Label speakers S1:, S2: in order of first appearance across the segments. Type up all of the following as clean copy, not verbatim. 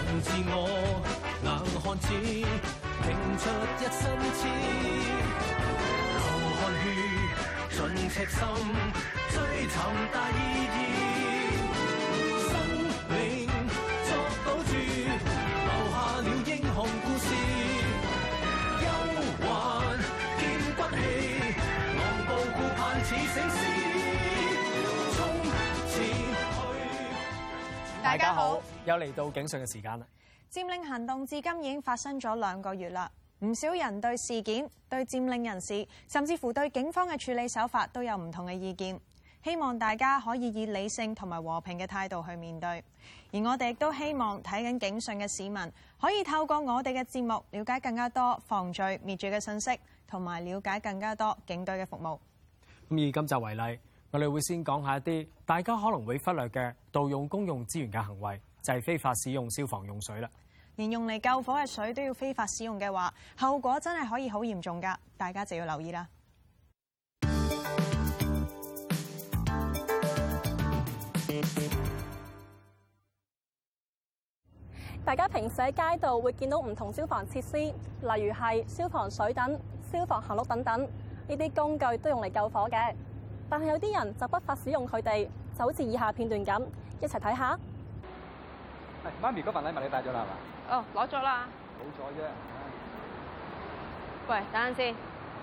S1: 自我，硬漢子拼出一身刺，流汗血盡赤心，追尋大意義，生命作賭注，留下了英雄故事，憂患見骨氣，昂步顧盼似死屍，衝前去。
S2: 大家好，又嚟到警訊嘅時間啦。
S3: 佔領行動至今已經發生咗2個月啦，唔少人對事件、對佔領人士，甚至乎對警方嘅處理手法都有唔同嘅意見。希望大家可以以理性同埋和平嘅態度去面對。而我哋亦都希望睇緊警訊嘅市民可以透過我哋嘅節目，了解更加多防罪滅罪嘅信息，同埋了解更加多警隊嘅服務。
S2: 咁以今集為例，我哋會先講下一啲大家可能會忽略嘅盜用公用資源嘅行為，就係非法使用消防用水啦。
S3: 連用嚟救火嘅水都要非法使用嘅話，後果真係可以好嚴重㗎，大家就要留意啦。
S4: 大家平時喺街道會見到唔同消防設施，例如係消防水燈、消防行轆等等，呢啲工具都用嚟救火嘅。但係有啲人就不法使用佢哋，就好似以下片段咁，一齊睇下。
S5: 媽咪嗰份禮物你帶咗啦係嘛？
S6: 哦，攞咗啦。
S5: 好咗啫。
S6: 喂，等陣先。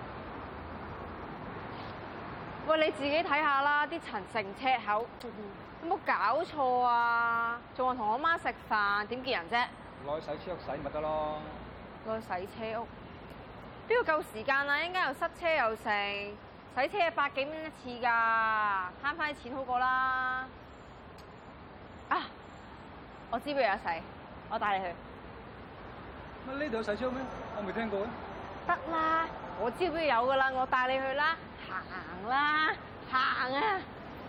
S6: 喂，你自己睇下啦，啲塵成尺厚，有冇搞錯啊？仲話同我媽食飯，點見人啫？
S5: 攞去洗車屋洗咪得咯。
S6: 攞去洗車屋，邊度夠時間啊？一陣間又塞車又剩，洗車100幾蚊一次㗎，慳翻啲錢好過啦。啊！我知邊度有洗，我帶你去。
S5: 乜呢度有洗車屋咩？我未聽過啊。
S6: 得啦，我知邊度有㗎啦，我帶你去啦。行啦，行啊！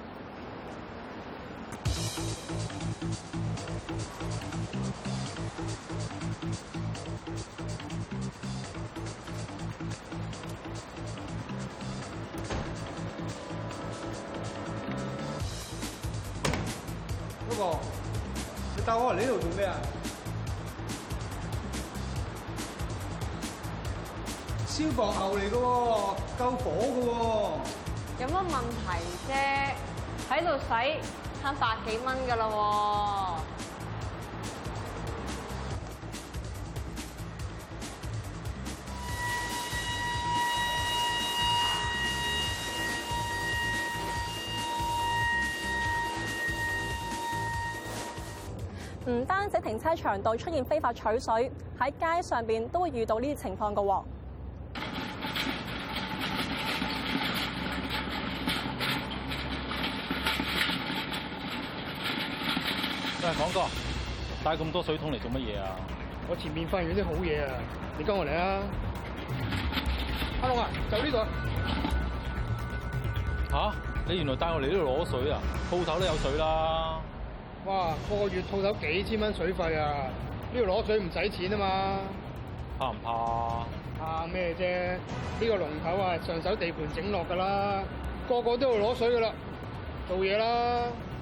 S5: 嗰個，你帶我嚟呢度做咩啊？消防喉嚟嘅喎，救火嘅喎。
S6: 有乜問題啫？喺度洗慳100幾蚊㗎啦喎！
S4: 唔單止停車場度出現非法取水，喺街上邊都會遇到呢啲情況㗎喎。
S7: 喂，廣哥，帶咁多水桶嚟做乜嘢啊？
S5: 我前面發現啲好嘢啊！你跟我嚟啊！阿龍啊，就呢度。
S7: 吓？你原來帶我嚟呢度攞水啊？鋪頭都有水啦。
S5: 哇，個月鋪頭幾千蚊水費啊！呢度攞水唔使錢啊嘛。
S7: 怕唔怕？
S5: 怕咩啫？呢個龍頭啊，上手地盤整落㗎啦，個個都要攞水㗎啦，做嘢啦。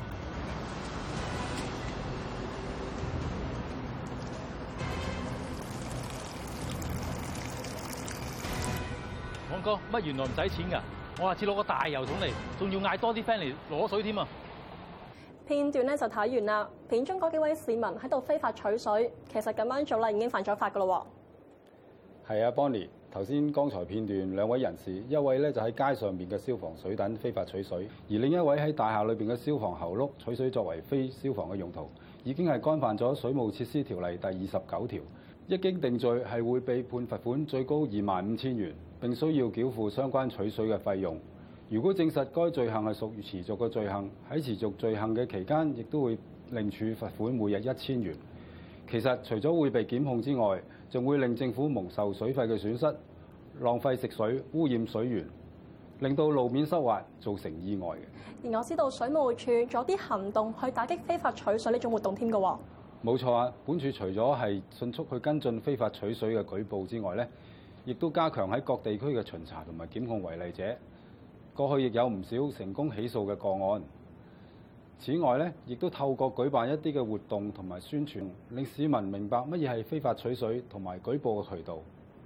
S7: 廣哥，乜原來唔使錢㗎？我下次攞個大油桶嚟，仲要嗌多啲 friend 嚟攞水添啊！
S4: 片段咧就睇完啦，片中嗰幾位市民喺度非法取水，其實咁樣做啦已經犯咗法㗎咯喎。
S8: 係啊 ，Bonnie，頭先剛才片段2位人士，一位咧就喺街上邊嘅消防水躉非法取水，而另一位喺大廈裏邊嘅消防喉轆取水作為非消防嘅用途，已經係干犯咗《水務設施條例》第29條。一經定罪，係會被判罰款最高25,000元，並需要繳付相關取水嘅費用。如果證實該罪行係屬於持續嘅罪行，喺持續罪行嘅期間，亦都會另處罰款每日1000元。其實除咗會被檢控之外，仲會令政府蒙受水費嘅損失，浪費食水、污染水源，令到路面濕滑，造成意外嘅。
S4: 而我知道水務署做啲行動去打擊非法取水呢種活動添㗎喎。
S8: 冇錯啊！本署除咗係迅速去跟進非法取水嘅舉報之外咧，亦都加強喺各地區嘅巡查同埋檢控違例者。過去亦有唔少成功起訴嘅個案。 此外咧，亦都透過舉辦一啲嘅活動同埋宣傳，令市民明白乜嘢係非法取水同埋舉報嘅渠道。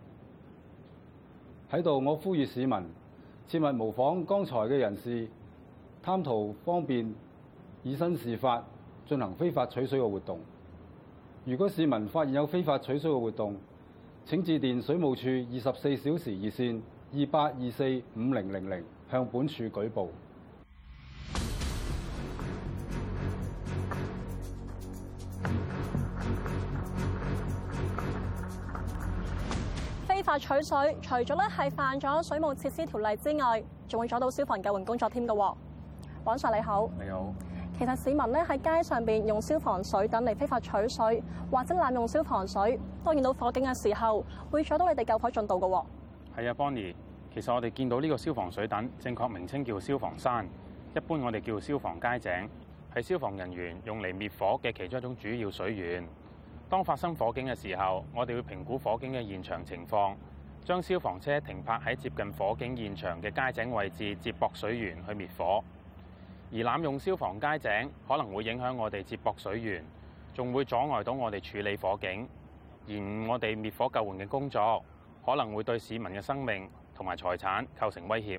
S8: 喺度，我呼籲市民切勿模仿剛才嘅人士，貪圖方便以身試法進行非法取水嘅活動。如果市民發現有非法取水嘅活動，請致電水務署24小時熱線28245000向本署舉報。
S4: 非法取水，除咗咧係犯咗水務設施條例之外，仲會阻到消防救援工作添㗎喎。黃 Sir 你好，
S8: 你好。
S4: 其實市民咧喺街上邊用消防水等嚟非法取水，或者濫用消防水，當見到火警嘅時候，會阻到你哋救火進度㗎喎。
S9: 係啊 ，Bonnie， 其實我哋見到呢個消防水躉，正確名稱叫消防山，一般我哋叫消防街井，係消防人員用嚟滅火嘅其中一種主要水源。當發生火警嘅時候，我哋會評估火警嘅現場情況，將消防車停泊喺接近火警現場嘅街井位置，接駁水源去滅火。而濫用消防街井可能會影響我哋接駁水源，仲會阻礙到我哋處理火警，延誤我哋滅火救援嘅工作，可能會對市民嘅生命同埋財產構成威脅。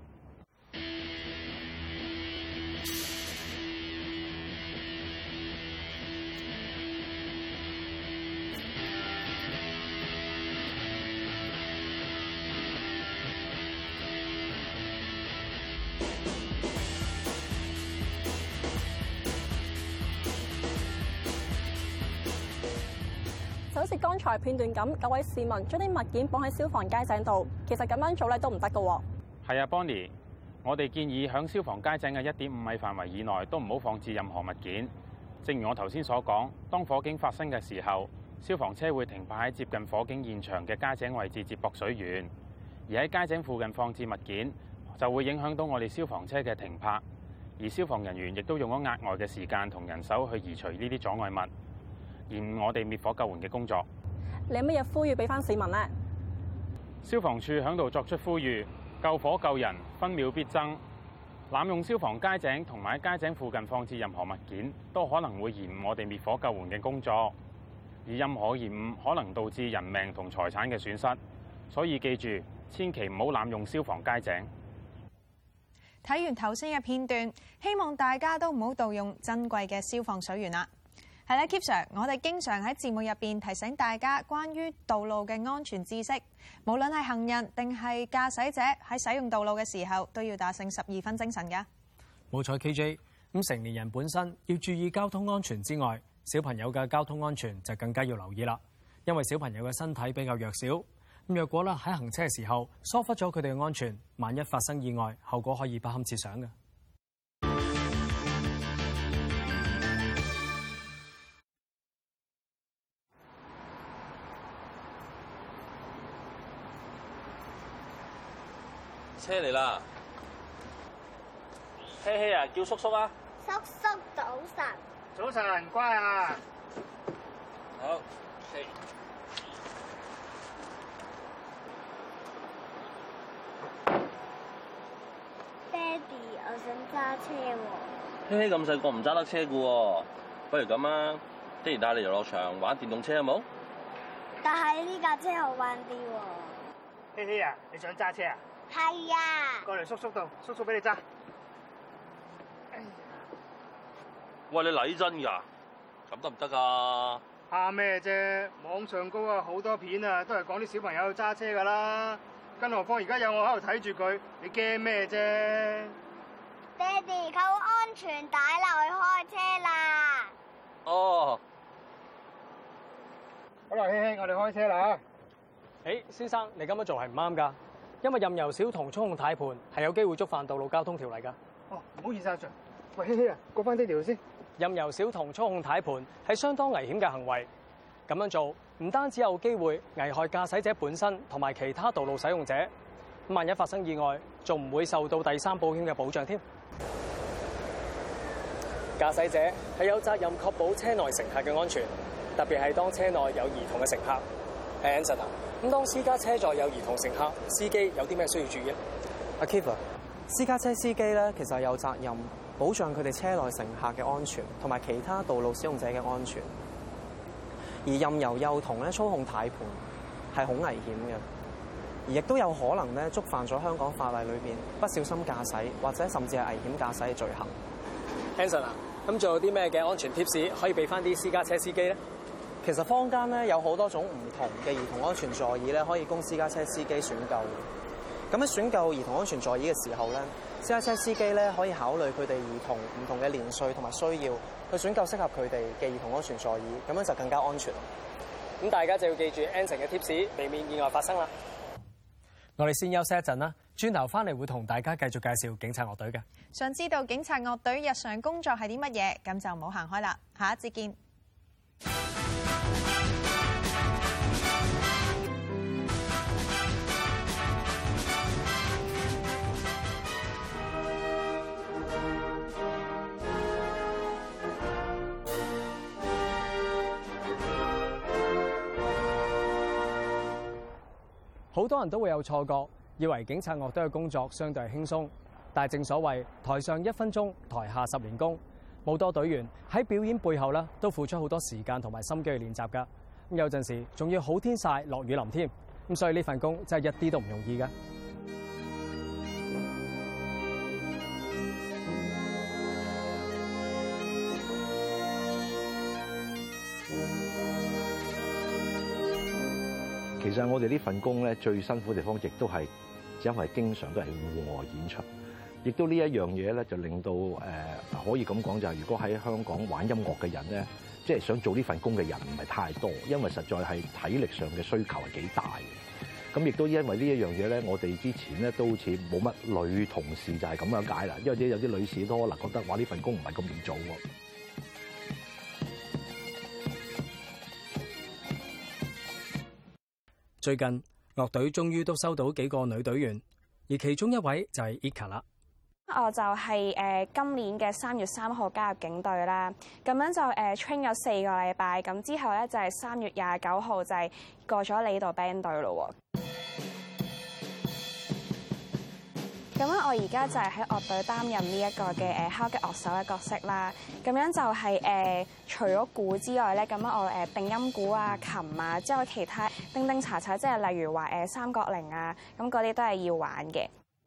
S4: 就好似剛才片段咁，各位市民將啲物件綁喺消防街井度，其實咁樣做咧都唔得㗎喎。
S9: 係啊 ，Bonnie， 我哋建議響消防街井嘅1.5米範圍以內都唔好放置任何物件。正如我頭先所講，當火警發生嘅時候，消防車會停泊喺接近火警現場嘅街井位置接駁水源，而喺街井附近放置物件就會影響到我哋消防車嘅停泊，而消防人員亦都用咗額外嘅時間同人手去移除呢啲阻礙物，延誤我哋滅火救援嘅工作。
S4: 你有乜嘢呼籲俾翻市民呢？
S9: 消防處響度作出呼籲，救火救人分秒必爭，濫用消防街井同埋喺街井附近放置任何物件，都可能會延誤我哋滅火救援嘅工作，而任何延誤可能導致人命同財產嘅損失，所以記住，千祈唔好濫用消防街井。
S3: 睇完頭先嘅片段，希望大家都唔好盜用珍貴嘅消防水源啦。係啦 ，Keep Sir， 我哋經常喺節目入邊提醒大家關於道路嘅安全知識，無論係行人定係駕駛者喺使用道路嘅時候，都要打醒12分精神㗎。
S2: 冇錯 ，KJ。咁成年人本身要注意交通安全之外，小朋友嘅交通安全就更加要留意啦。因為小朋友嘅身體比較弱小，咁若果啦喺行車嘅時候疏忽咗佢哋嘅安全，萬一發生意外，後果可以不堪設想嘅。
S10: 車嚟啦！希希啊，叫叔叔啊！
S11: 叔叔早晨。
S5: 早晨，乖啊！
S10: 好，係。
S11: 爹哋，我想揸車喎。
S10: 希希咁細個唔揸得車噶喎，不如咁啊，爹哋帶你遊樂場玩電動車好冇？
S11: 但係呢架車好玩啲喎。
S5: 希希啊，你想揸車啊？
S11: 係啊。
S5: 過嚟叔叔度，叔叔俾你揸。
S10: 喂，你嚟真㗎？咁得唔得㗎？
S5: 怕咩啫？網上高啊好多片啊，都係講啲小朋友揸車㗎啦。更何況而家有我喺度睇住佢，你驚咩啫？
S11: 爹哋，扣安全帶啦，去開車啦。
S10: 哦。
S5: 好啦，希希，我哋開車啦。
S2: 誒，先生，你咁樣做係唔啱㗎，因為任由小童操控軚盤係有機會觸犯道路交通條例㗎。
S5: 哦，唔好意思啊 Sir。喂，希希啊，過翻呢條先。
S2: 任由小童操控軚盤係相當危險嘅行為，咁樣做唔單止有機會危害駕駛者本身同埋其他道路使用者，萬一發生意外，仲唔會受到第三保險嘅保障添。駕駛者係有責任確保車內乘客嘅安全，特別係當車內有兒童嘅乘客。Anson 啊，咁當私家車載有兒童乘客，司機有啲咩需要注意咧？
S12: 阿 Kiva， 私家車司機咧其實有責任保障佢哋車內乘客嘅安全同埋其他道路使用者嘅安全。而任由幼童咧操控軚盤係好危險嘅，而亦都有可能咧觸犯咗香港法例裏邊不小心駕駛或者甚至係危險駕駛嘅罪行。
S2: Hanson 啊，咁仲有啲咩嘅安全 tips 可以俾翻啲私家車司機咧？
S12: 其實坊間咧有好多種唔同嘅兒童安全座椅咧，可以供私家車司機選購。咁喺選購兒童安全座椅嘅時候咧，私家車司機咧可以考慮佢哋兒童唔同嘅年歲同埋需要，去選購適合佢哋嘅兒童安全座椅，咁樣就更加安全。
S2: 咁大家就要記住 Anson 嘅 tips， 避免意外發生啦。我哋先休息一陣啦，轉頭翻嚟會同大家繼續介紹警察樂隊嘅。
S3: 想知道警察樂隊日常工作係啲乜嘢？咁就唔好行開啦，下一節見。
S2: 好多人都會有錯覺，以為警察樂隊嘅工作相對係輕鬆，但係正所謂台上1分鐘，台下10年功。好多隊員喺表演背後咧，都付出好多時間同埋心機去練習㗎。咁有陣時仲要好天曬落雨淋添，咁所以呢份工真係一啲都唔容易㗎。
S13: 其實我哋呢份工咧最辛苦嘅地方，亦都係因為經常都係戶外演出，亦都呢一樣嘢咧就令到可以咁講就係，如果喺香港玩音樂嘅人咧，即係想做呢份工嘅人唔係太多，因為實在係體力上嘅需求係幾大嘅。咁亦都因為呢一樣嘢咧，我哋之前咧都好似冇乜女同事就係咁樣解啦，因為有啲女士都可能覺得話呢份工唔係咁易做喎。
S2: 最近樂隊終於都收到幾個女隊員，而其中一位就係 Eka 啦。
S14: 我就係今年嘅3月3號加入警隊啦，咁樣就train 咗4個禮拜，咁之後咧就係3月29號就係過咗你度 band 隊咯。咁樣我而家就係喺樂隊擔任呢一個嘅敲擊樂手嘅角色啦。咁樣就係除咗鼓之外咧，咁樣我定音鼓啊、琴啊，之後其他叮叮查查，即係例如話三角鈴啊，咁嗰啲都係要玩嘅。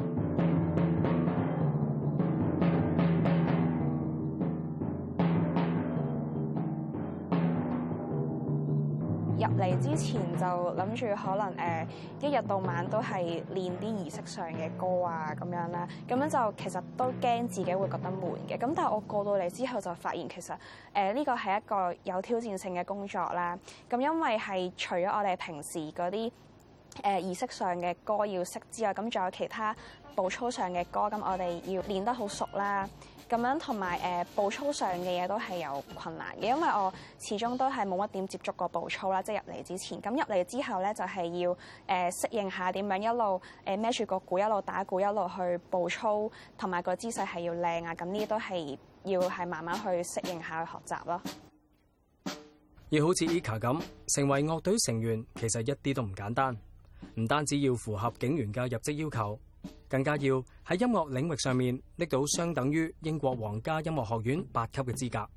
S14: 入嚟之前就諗住可能一日到晚都係練啲儀式上嘅歌啊咁樣啦，咁樣就其實都驚自己會覺得悶嘅。咁但係我過到嚟之後就發現其實呢個係一個有挑戰性嘅工作啦。咁因為係除咗我哋平時嗰啲儀式上嘅歌要識之外，咁仲有其他步操上嘅歌，咁我哋要練得好熟啦。咁樣同埋步操上嘅嘢都係有困難嘅，因為我始終都係冇乜點接觸過步操啦，即係入嚟之前。咁入嚟之後咧，就係要適應下點樣一路孭住個鼓，一路打鼓，一路去步操，同埋個姿勢係要靚啊。咁呢啲都係要係慢慢去適應下去學習咯。
S2: 要好似 Eka 咁成為樂隊成員，其實一啲都唔簡單，唔單止要符合警員嘅入職要求，更加要喺音樂領域上面拎到相等於英國皇家音樂學院8級嘅資格。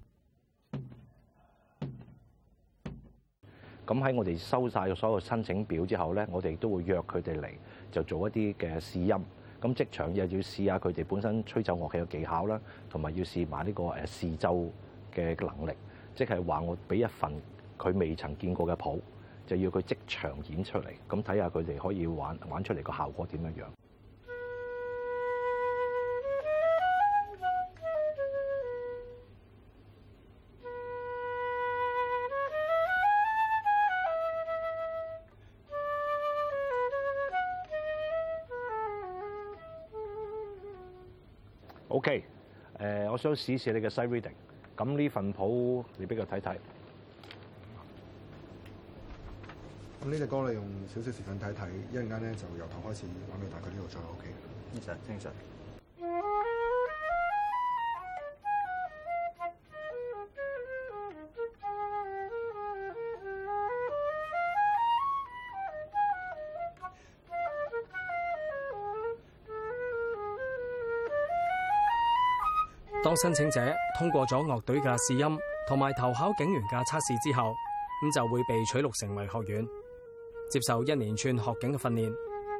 S13: 咁喺我哋收晒所有申請表之後咧，我哋都會約佢哋嚟就做一啲嘅試音。咁即場又要試下佢哋本身吹奏樂器嘅技巧啦，同埋要試埋呢個視奏嘅能力。即係話我俾一份佢未曾見過嘅譜，就要佢即場演出嚟，咁睇下佢哋可以玩出嚟個效果點樣樣。OK， 我想試試你嘅 sight reading。咁呢份譜你俾佢睇睇。
S15: 咁呢隻歌你用少少時間睇睇，一陣間咧就由頭開始玩到大概呢度左右 OK。正常。
S2: 當申請者通過咗樂隊嘅試音同埋投考警員嘅測試之後，咁就會被取錄成為學員，接受一連串學警嘅訓練。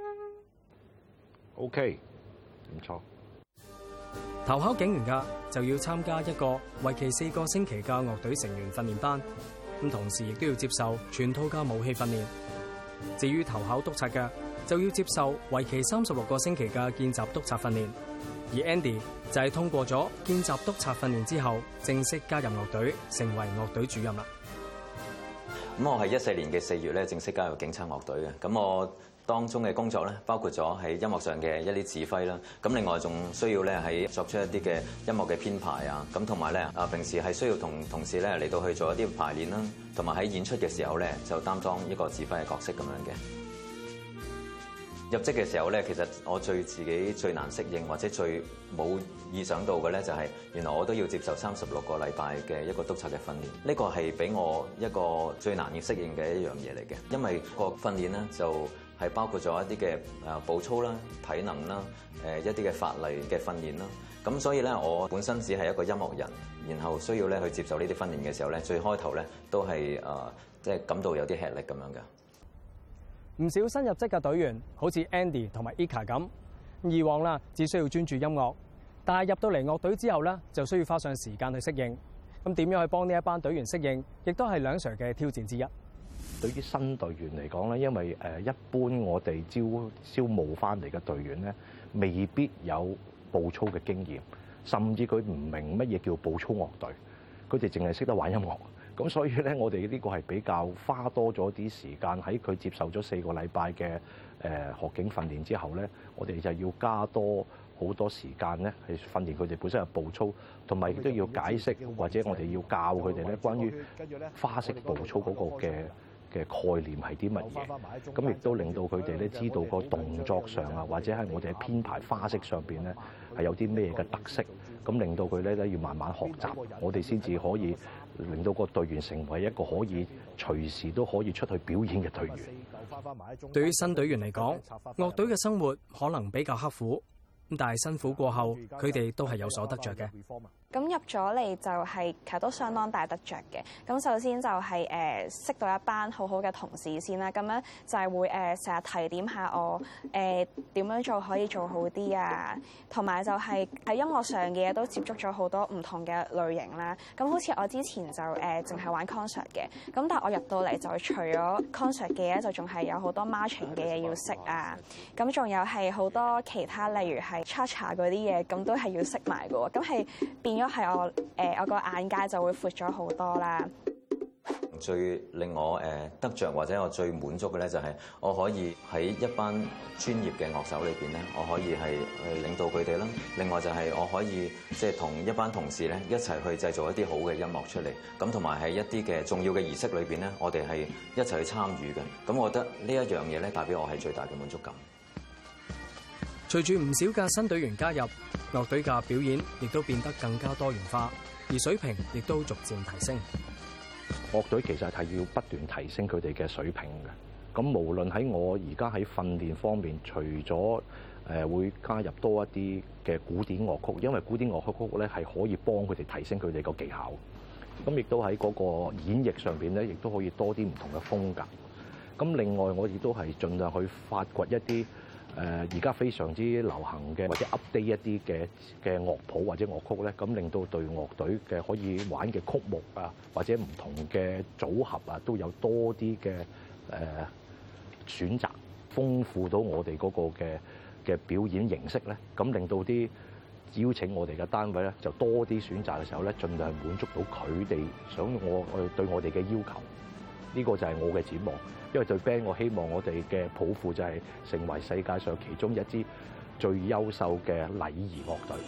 S13: OK， 唔錯。
S2: 投考警員嘅就要參加一個為期4個星期嘅樂隊成員訓練班，咁同時亦都要接受全套嘅武器訓練。至於投考督察嘅，就要接受為期36個星期嘅見習督察訓練。而 Andy 就係通過咗見習督察訓練之後，正式加入樂隊，成為樂隊主任啦。
S16: 咁我係14年嘅4月咧，正式加入警察樂隊嘅。咁我當中嘅工作咧，包括咗喺音樂上嘅一啲指揮啦。咁另外仲需要咧喺作出一啲嘅音樂嘅編排啊。咁同埋咧平時係需要同同事咧嚟到去做一啲排練啦，同埋喺演出嘅時候咧就擔當一個指揮嘅角色咁樣嘅。入職嘅時候咧，其實我自己最難適應或者最冇意想到嘅咧，就係原來我都要接受36個禮拜嘅一個督察嘅訓練。呢個係俾我一個最難以適應嘅一樣嘢嚟嘅，因為個訓練咧就係包括咗一啲嘅步操啦、體能啦、一啲嘅法例嘅訓練啦。咁所以咧，我本身只係一個音樂人，然後需要咧去接受呢啲訓練嘅時候咧，最開頭咧都係即係感到有啲吃力咁樣嘅。
S2: 唔少新入職嘅隊員，好似 Andy 同埋 Ika 咁，以往啦只需要專注音樂，但係入到嚟樂隊之後咧，就需要花上時間去適應。咁點樣去幫呢一班隊員適應，亦都係梁 Sir 嘅挑戰之一。
S13: 對於新隊員嚟講咧，因為一般我哋招募翻嚟嘅隊員咧，未必有步操嘅經驗，甚至佢唔明乜嘢叫步操樂隊，佢哋淨係識得玩音樂。咁所以咧，我哋呢個係比較花多咗啲時間喺佢接受咗4個禮拜嘅學警訓練之後咧，我哋就要加多好多時間咧，去訓練佢哋本身嘅步操，同埋亦都要解釋或者我哋要教佢哋咧關於花式步操嗰個嘅概念係啲乜嘢，咁亦都令到佢哋咧知道個動作上啊，或者係我哋喺編排花式上邊咧係有啲咩嘅特色，咁令到佢咧要慢慢學習，我哋先至可以令到個隊員成為一個可以隨時都可以出去表演嘅隊員。
S2: 對於新隊員嚟講，樂隊嘅生活可能比較刻苦，但係辛苦過後，佢哋都係有所得着嘅。
S14: 咁入咗嚟就係其實都相當大得着嘅。咁首先就係識到一班好好嘅同事先啦。咁樣就係會成日提點下我點樣做可以做好啲啊。同埋就係喺音樂上嘅嘢都接觸咗好多唔同嘅類型啦。咁好似我之前就淨係玩 concert 嘅。咁但係我入到嚟就除咗 concert 嘅嘢，就仲係有好多 marching 嘅嘢要識啊。咁仲有係好多其他例如係 cha-cha 嗰啲嘢，咁都係要識埋嘅喎。咁係變咗係我個眼界就會闊咗好多啦。
S16: 最令我得着或者我最滿足嘅咧，就係我可以喺一班專業嘅樂手裏邊咧，我可以係領導佢哋啦。另外就係我可以即係同一班同事咧一齊去製造一啲好嘅音樂出嚟。咁同埋喺一啲嘅重要嘅儀式裏邊咧，我哋係一齊去參與嘅。咁我覺得呢一樣嘢咧，帶俾我係最大嘅滿足感。
S2: 隨住唔少嘅新隊員加入，樂隊嘅表演亦都變得更加多元化，而水平亦都逐漸提升。
S13: 樂隊其實係要不斷提升佢哋嘅水平嘅。咁無論喺我而家喺訓練方面，除咗會加入多一啲嘅古典樂曲，因為古典樂曲咧係可以幫佢哋提升佢哋個技巧。咁亦都喺嗰個演繹上邊咧，亦都可以多啲唔同嘅風格。咁另外我亦都係盡量去發掘一啲而家非常之流行嘅或者 update 一啲嘅樂譜或者樂曲咧，咁令到對樂隊嘅可以玩嘅曲目啊，或者唔同嘅組合啊，都有多啲嘅選擇，豐富到我哋嗰個嘅表演形式咧，咁令到啲邀請我哋嘅單位咧就多啲選擇嘅時候咧，盡量係滿足到佢哋想我對我哋嘅要求。呢個就係我嘅展望，因為對 band 我希望我哋嘅抱負就係成為世界上其中一支最優秀嘅禮儀樂隊。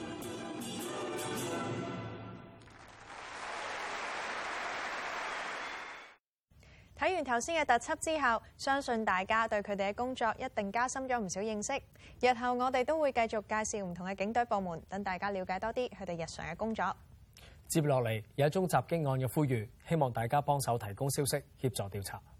S3: 睇完頭先嘅特輯之後，相信大家對佢哋嘅工作一定加深咗唔少認識。日後我哋都會繼續介紹唔同嘅警隊部門，等大家了解多啲佢哋日常嘅工作。
S2: 接落嚟有一宗襲擊案嘅呼籲，希望大家幫手提供消息，協助調查。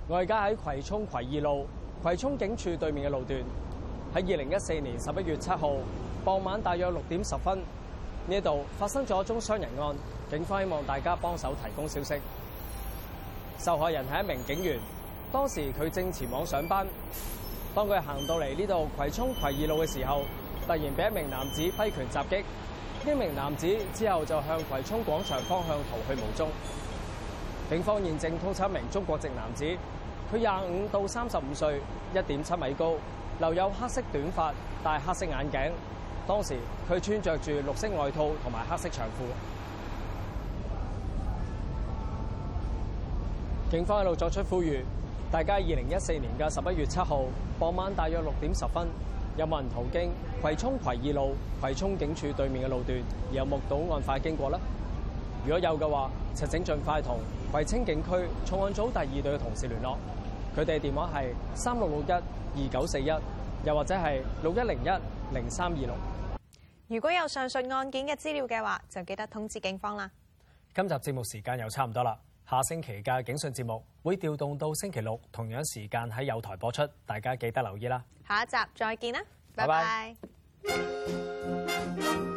S2: 我而家喺葵涌葵二路葵涌警署對面嘅路段，喺2014年11月7號傍晚大約6點10分，呢度發生咗一宗傷人案，警方希望大家幫手提供消息。受害人係一名警員，當時佢正前往上班。當佢行到嚟呢度葵涌葵二路嘅時候，突然俾一名男子揮拳襲擊。呢名男子之後就向葵涌廣場方向逃去無蹤。警方現正通緝一名中國籍男子，佢25到35歲，1.7米高，留有黑色短髮，戴黑色眼鏡。當時佢穿着住綠色外套同埋黑色長褲。警方喺度作出呼籲，大家2014年嘅11月7號傍晚大約6點10分，有冇人途經葵涌葵二路葵涌警署對面嘅路段，而有目睹案發經過呢？如果有嘅話，請盡快同葵青警區重案組第2隊嘅同事聯絡，佢哋嘅電話係36612941，又或者係61010326。
S3: 如果有上述案件嘅資料嘅話，就記得通知警方啦。
S2: 今集節目時間又差唔多啦，下星期嘅警訊節目會調動到星期六同樣時間喺有台播出，大家記得留意啦。
S3: 下一集再見啦，拜拜。